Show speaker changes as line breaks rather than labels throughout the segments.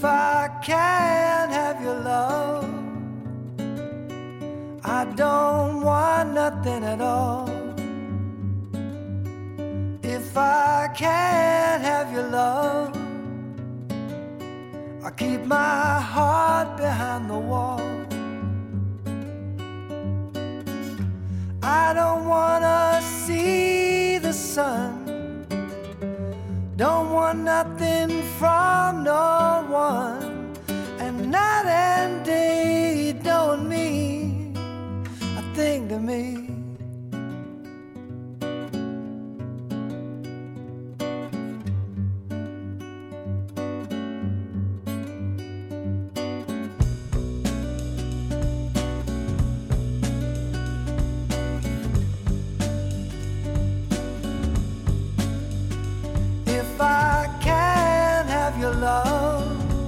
If I can't have your love, I don't want nothing at all. If I can't have your love, I keep my heart behind the wall. I don't wanna see the sun, don't want nothing from no one, and night and day don't mean a thing to me. If I can't have your love,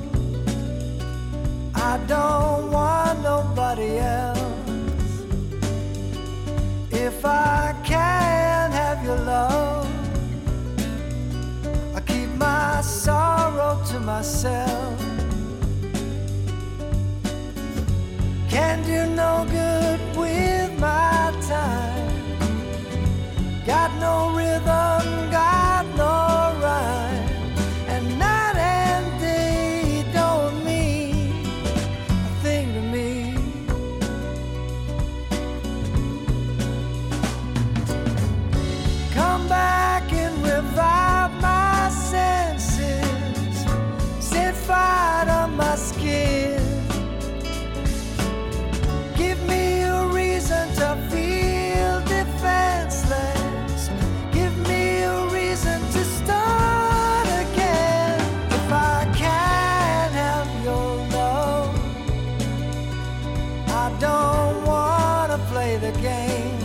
I don't want nobody else. If I can't have your love, I keep my sorrow to myself. Can't do no good with my time. Got no rhythm, got no rhyme, and night and day don't mean a thing to me. Come back and revive my senses, set fire to my skin. Give me a reason to feel defenseless. Give me a reason to start again. If I can't have your love, I don't wanna play the game.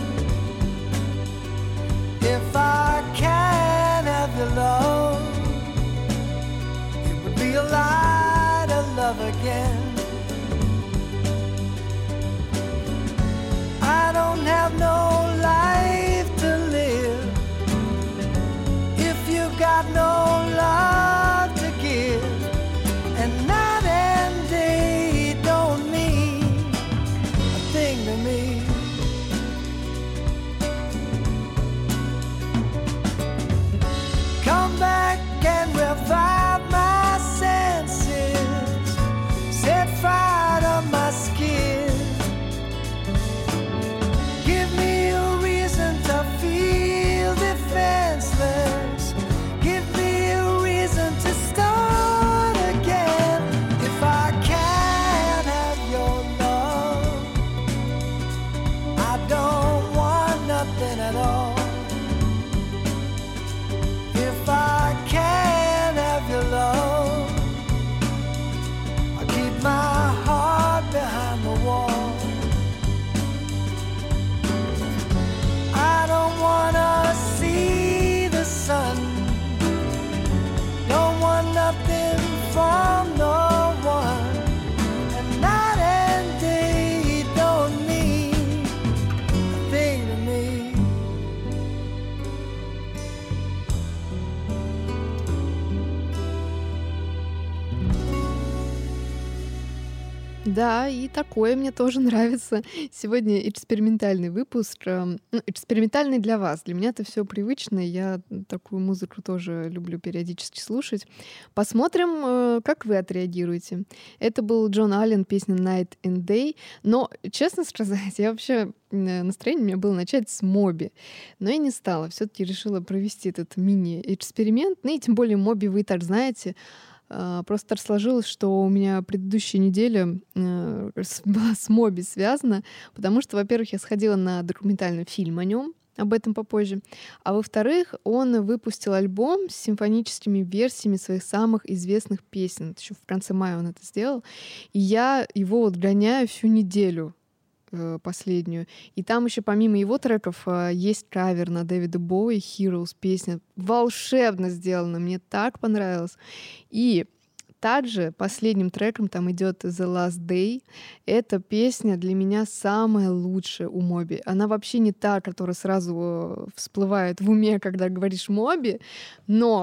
If I can't have your love, it would be a lie to love again. I don't have no life to live if you got no love to give, and night and day don't mean a thing to me. Come back and revive my senses, set fire to my skin. Give me a reason to feel defenseless. Give me a reason to start again. If I can't have your love, I don't want nothing at all. If I can't have your love, I keep my heart behind the wall. I don't wanna see the sun, don't want nothing from no one, and night and day don't mean a thing to me.
Да, и такое мне тоже нравится. Сегодня экспериментальный выпуск. Экспериментальный для вас. Для меня это все привычно. Я такую музыку тоже люблю периодически слушать. Посмотрим, как вы отреагируете. Это был Джон Аллен, песня Night and Day. Но, честно сказать, я вообще настроение у меня было начать с Моби. Но я не стала. Все-таки решила провести этот мини-эксперимент. Ну и тем более Моби вы и так знаете. Просто так сложилось, что у меня предыдущая неделя была с Моби связана, потому что, во-первых, я сходила на документальный фильм о нем, об этом попозже, а во-вторых, он выпустил альбом с симфоническими версиями своих самых известных песен. Еще в конце мая он это сделал, и я его вот гоняю всю неделю последнюю. И там еще помимо его треков есть кавер на Дэвида Боуи, Heroes, песня волшебно сделана, мне так понравилось. И также последним треком там идет The Last Day. Эта песня для меня самая лучшая у Моби. Она вообще не та, которая сразу всплывает в уме, когда говоришь Моби, но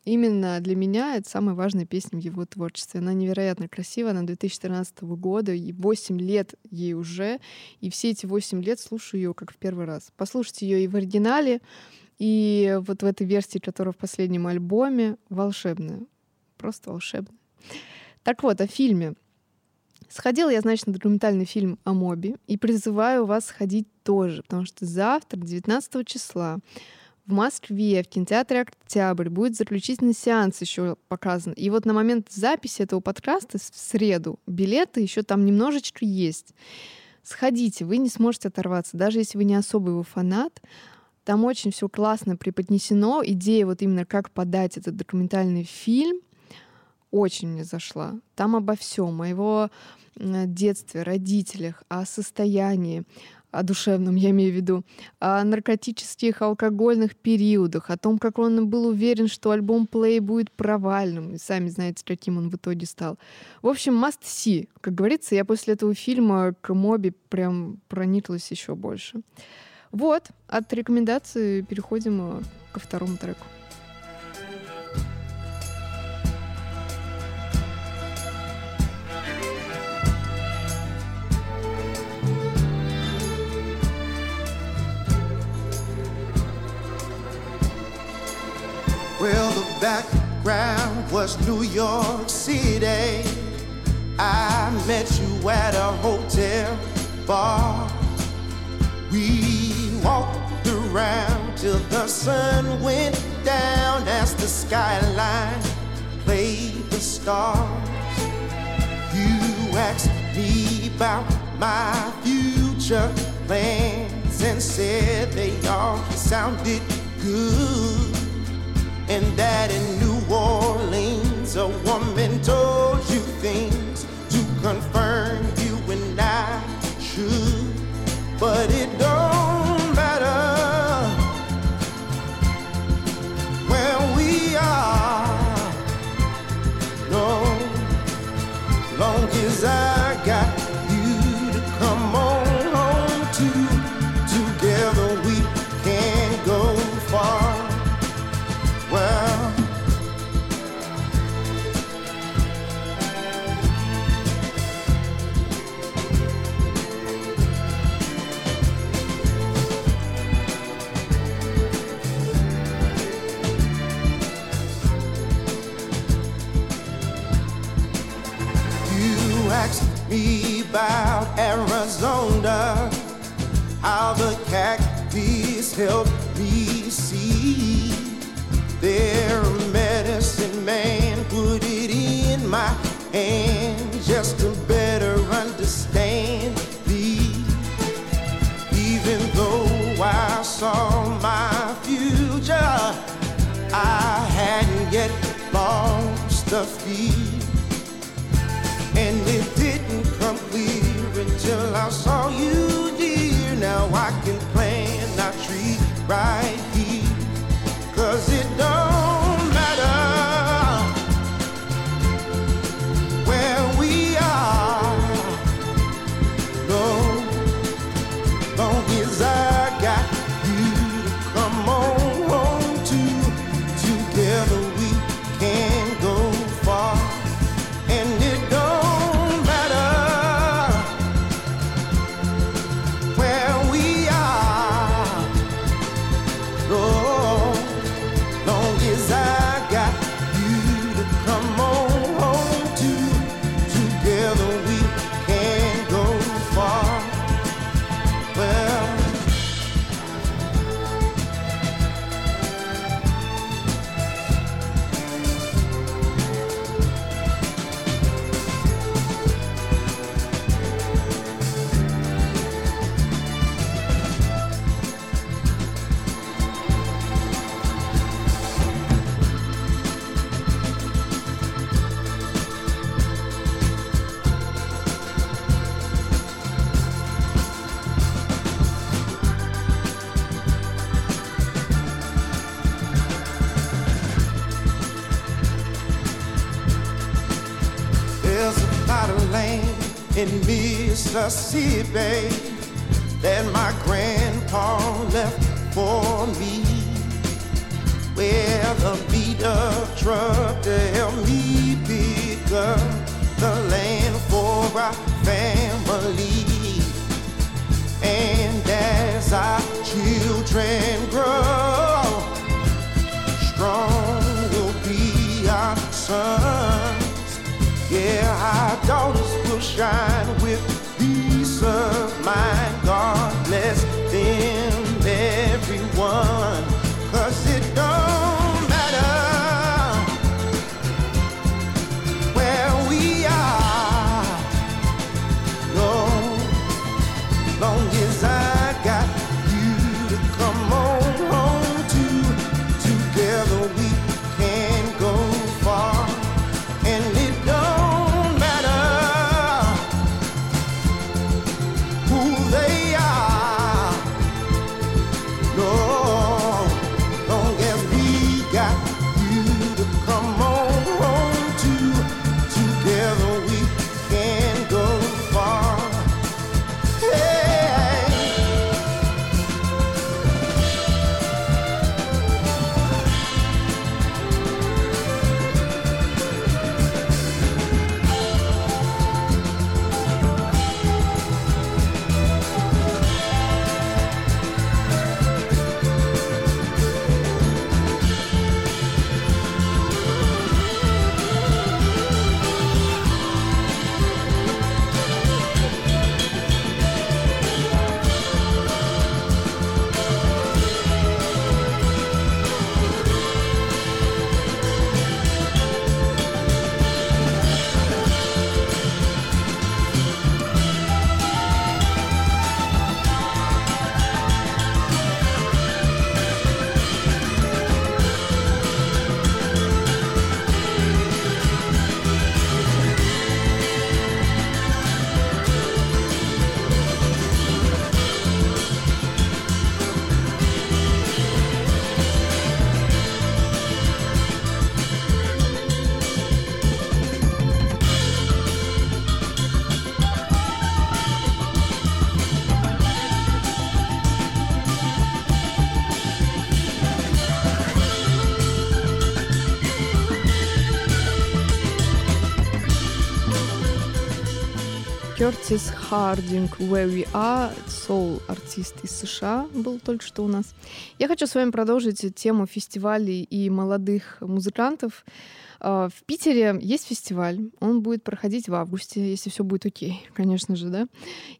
именно для меня это самая важная песня в его творчестве. Она невероятно красивая, она 2013 года, и 8 лет ей уже, и все эти 8 лет слушаю ее как в первый раз. Послушайте ее и в оригинале, и вот в этой версии, которая в последнем альбоме, волшебная. Просто волшебная. Так вот, о фильме. Сходила я, значит, на документальный фильм о Моби, и призываю вас сходить тоже, потому что завтра, 19 числа, в Москве, в кинотеатре «Октябрь» будет заключительный сеанс еще показан. И вот на момент записи этого подкаста в среду билеты еще там немножечко есть. Сходите, вы не сможете оторваться, даже если вы не особо его фанат. Там очень все классно преподнесено. Идея вот именно как подать этот документальный фильм очень мне зашла. Там обо всем, о его детстве, родителях, о состоянии, о душевном, я имею в виду, о наркотических, алкогольных периодах, о том, как он был уверен, что альбом Play будет провальным, и сами знаете, каким он в итоге стал. В общем, must see. Как говорится, я после этого фильма к Моби прям прониклась еще больше. Вот, от рекомендаций переходим ко второму треку.
Well, the background was New York City. I met you at a hotel bar. We walked around till the sun went down as the skyline played the stars. You asked me about my future plans and said they all sounded good. And that in New Orleans a woman told you things to confirm you and I should. But it don't matter where we are, no, long as I got you to come on home to. Together we can go far. Well, you asked me about Arizona, how the cactus helped me see. Their medicine man put it in my hand just to better understand me. Even though I saw my future, I hadn't yet lost the fear. And it didn't come clear until I saw you, dear. Now I can plant our tree right here. 'Cause it don't matter where we are, no, long as I got you to come on home to. Together we can go far. And it don't matter where we are, no, long as I got you to come on home to. Together we can go far. Well, there's a lot of land in Mississippi that my grandpa left for me, where never meet a truck to help me pick up the land for our family. And as our children grow, strong will be our sons. Yeah, our daughters will shine with peace of mind. God bless them, everyone. 'Cause it don't matter where we are, no, long as I got you to come on home to. Together we can go far, and it don't matter who they are, no.
Кертис Хардинг, Where We Are, соул-артист из США, был только что у нас. Я хочу с вами продолжить тему фестивалей и молодых музыкантов. В Питере есть фестиваль, он будет проходить в августе, если все будет окей, конечно же, да.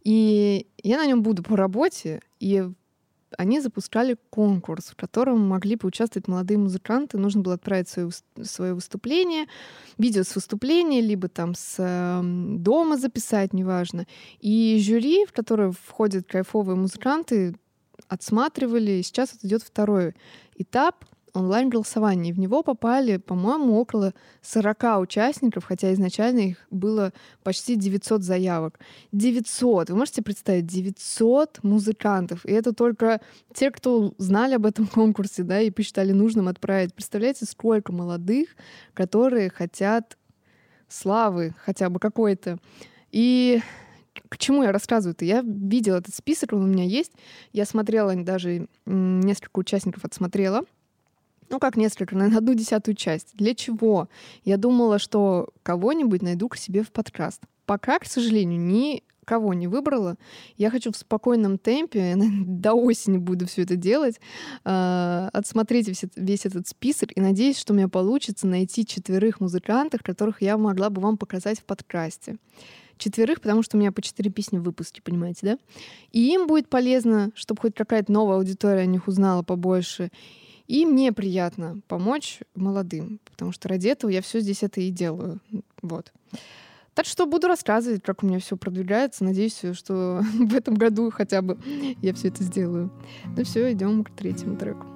И я на нем буду по работе, и они запускали конкурс, в котором могли поучаствовать молодые музыканты. Нужно было отправить свое выступление, видео с выступления, либо там с дома записать, неважно. И жюри, в которое входят кайфовые музыканты, отсматривали. И сейчас вот идет второй этап онлайн-голосования. В него попали, по-моему, около 40 участников, хотя изначально их было почти 900 заявок. 900! Вы можете представить? 900 музыкантов. И это только те, кто знали об этом конкурсе, да, и посчитали нужным отправить. Представляете, сколько молодых, которые хотят славы хотя бы какой-то. И к чему я рассказываю-то? Я видела этот список, он у меня есть. Я смотрела, даже несколько участников отсмотрела. Ну, как несколько, наверное, 1/10 часть. Для чего? Я думала, что кого-нибудь найду к себе в подкаст. Пока, к сожалению, никого не выбрала. Я хочу в спокойном темпе, до осени буду все это делать, отсмотреть весь этот список, и надеюсь, что у меня получится найти 4 музыкантов, которых я могла бы вам показать в подкасте. 4, потому что у меня по 4 песни в выпуске, понимаете, да? И им будет полезно, чтобы хоть какая-то новая аудитория о них узнала побольше. И мне приятно помочь молодым, потому что ради этого я все здесь это и делаю. Вот. Так что буду рассказывать, как у меня все продвигается. Надеюсь, что в этом году хотя бы я все это сделаю. Ну все, идем к 3-му треку.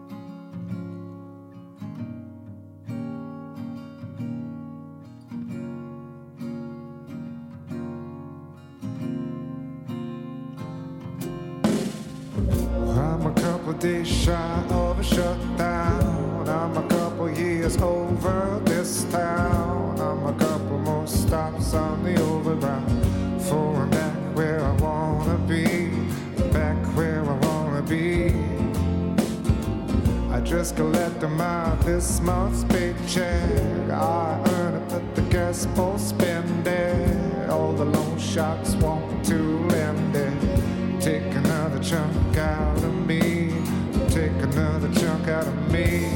I'm a couple days shy of a shutdown. I'm a couple years over this town. I'm a couple more stops on the overground. For I'm back where I wanna be, back where I wanna be. I just collect them out this month's paycheck. I earn it, but the gas won't spend it. All the loan sharks want to lend it. Take another chunk out of me. Take another chunk out of me.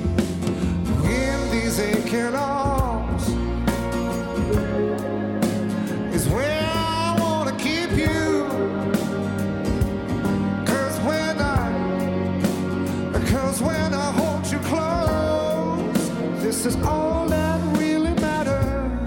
In these aching arms is where I wanna keep you. Cause when I hold you close, this is all that really matters.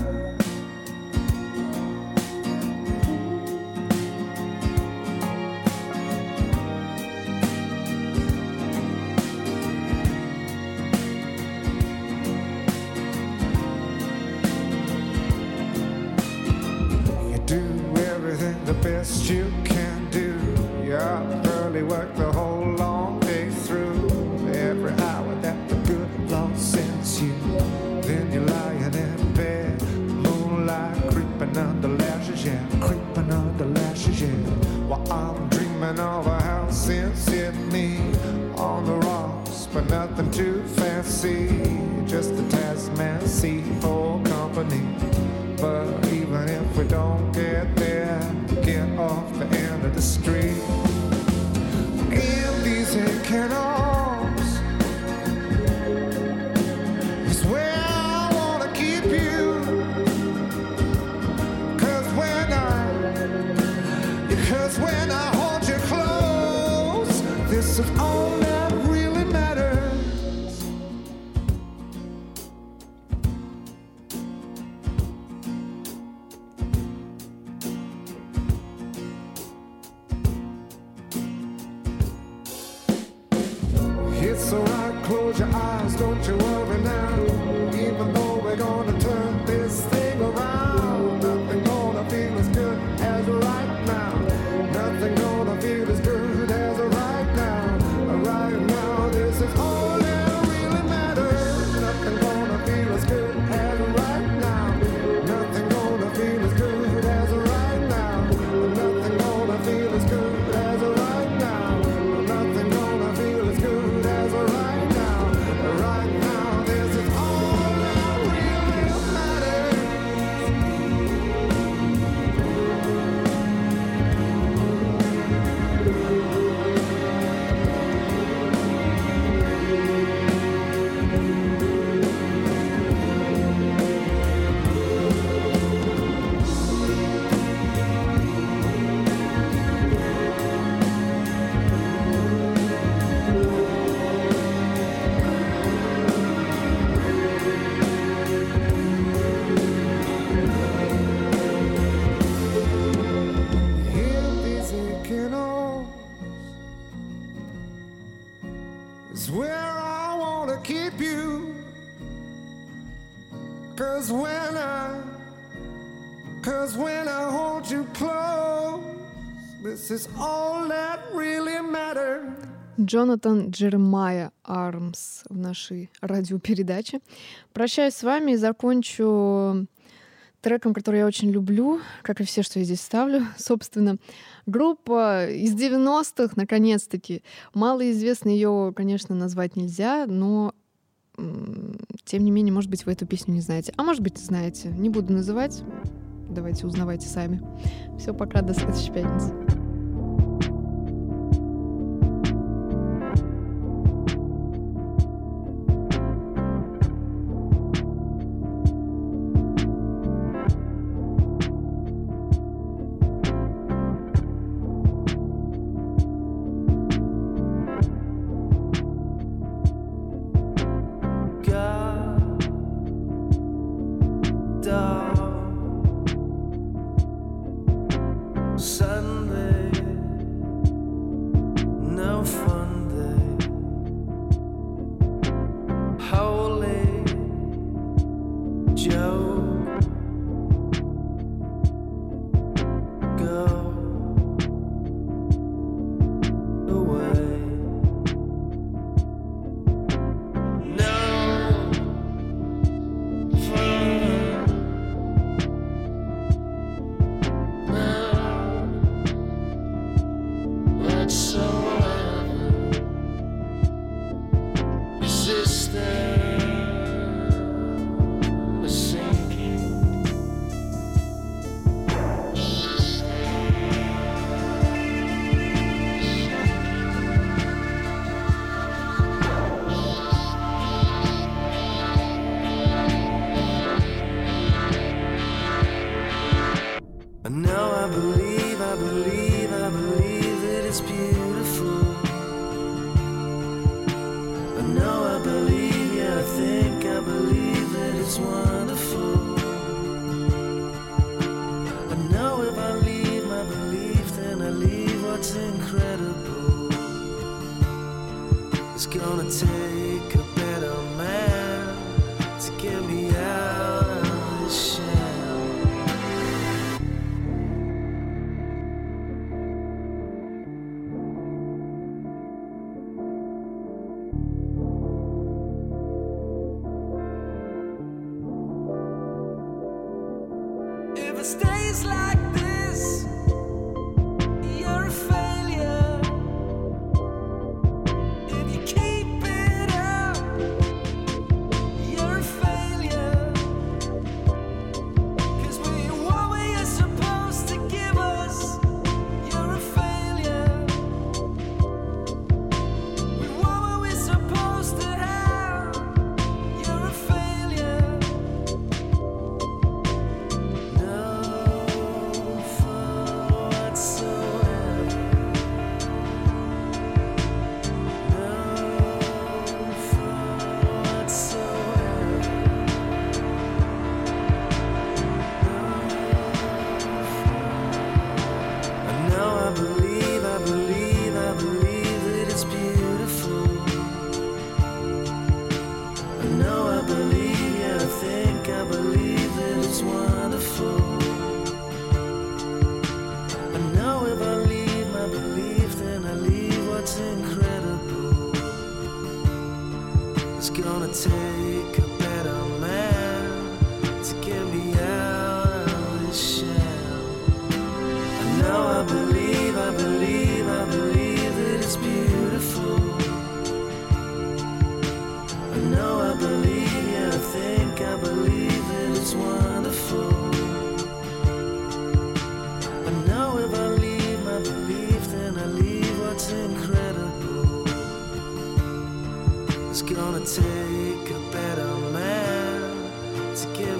You do everything the best you can do. You early work the whole long day through. Every hour that the good Lord sends you. Then you're lying in bed, moonlight creeping under lashes, yeah, creeping under lashes, yeah. While I'm dreaming of a house in Sydney, on the rocks, but nothing too fancy. Just a Tasman Sea for company. But even if we don't get there, get off the end of the street. In these aching arms is where I wanna keep you. Cause when I hold you close, this is all that really matters. It's alright, close your eyes, don't you worry now. Even though we're gonna turn this thing around, nothing gonna feel as good as right now. Nothing gonna feel as good as right now. Right now, this is all that really matters. Nothing gonna feel as good as right now. Nothing gonna feel as good as right now. Nothing gonna feel as good as right now. Nothing gonna feel as good as right now. Right now, this is all that really matters. In these aching arms is where I wanna keep you. Cause when I hold you close, this is all that really matters.
Джонатан Джеремайя Армс в нашей радиопередаче. Прощаюсь с вами и закончу треком, который я очень люблю, как и все, что я здесь ставлю. Собственно, группа из 90-х, наконец-таки. Малоизвестно ее, конечно, назвать нельзя, но тем не менее, может быть, вы эту песню не знаете. А может быть, знаете. Не буду называть. Давайте узнавайте сами. Все, пока, до следующей пятницы.
Suddenly Take a better man to give